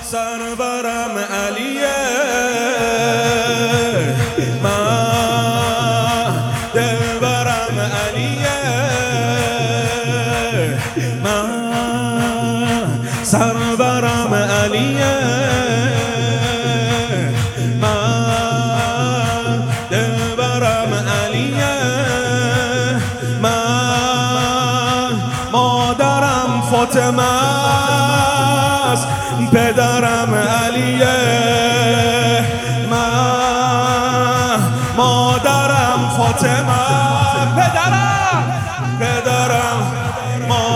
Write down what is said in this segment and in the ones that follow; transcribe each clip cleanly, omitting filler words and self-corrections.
سرورم علیه، من دلبرم علیه، من سرورم علیه، من دلبرم علیه، من مادرم فاطمه است، پدرم علیه، من مادرم فاطمه، پدرم ما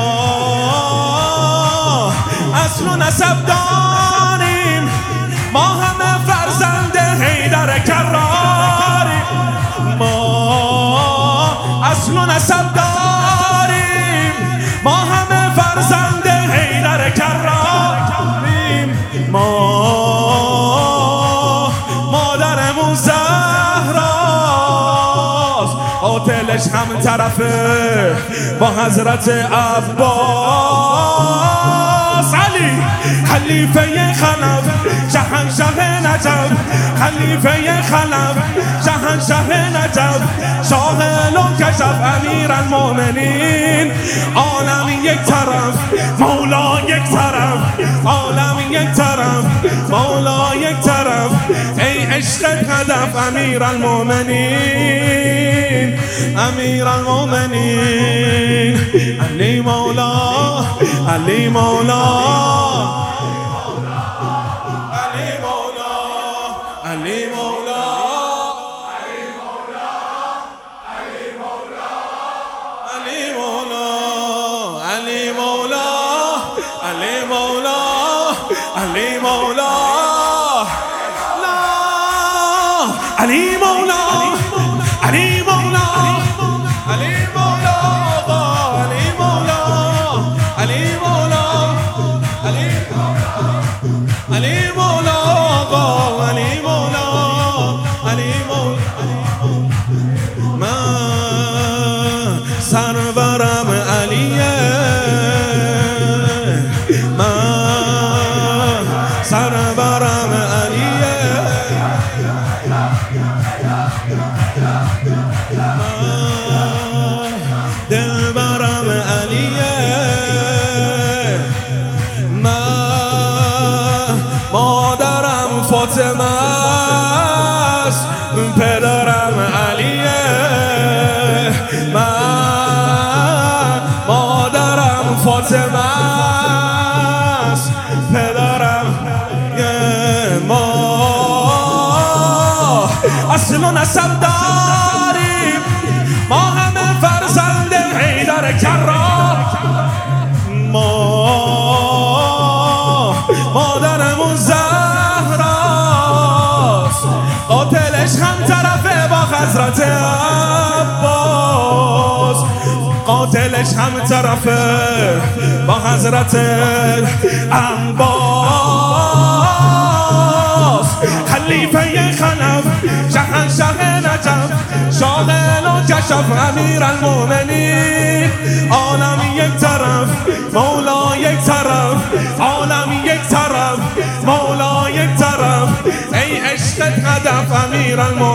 اصل و نسب داریم، ما همه فرزند حیدر کراریم، ما اصل و نسب داریم، ما همه فرزند حیدر کراریم، ما مادرمون زهراست، قاتلش هم طرفه با حضرت عباس، علی خلیفه خلف شهنشه نجف، خلیفه خلف شهنشه نجف، شاغل و کشف امیرالمومنین، عالم یک طرف مولا یک طرف، عالم یک طرف مولا یک طرف، ای عشق هدف امیرالمومنین، امیرالمومنین، علی مولا، علی مولا، علی مولا، علی مولا، علی مولا، علی مولا، علی مولا، علی مولا، علی مولا، لا علی مولا، علی مولا، علی مولا، علی مولا، علی مولا، علی علی مولا، علی مولا، علی مولا، من سرورم علیه، من سرورم علیه، من دلبرم علیه، من مادرم فاطمه است، پدرم علیه، من مادرم فاطمه است، پدرم ما اصل و نسب داریم، ما همه فرزند حیدر کرار، ما مادرمون زهراست، قاتلش هم طرفه با حضرت عباس، قاتلش هم طرفه با حضرت عباس، خلیفه خلف شهنشه نجف، شاغل و کشف امیرالمومنین، عالم یک طرف مولا یک طرف، عالم یک طرف مولا یک طرف، ای عشق هدف امیرالمومنین.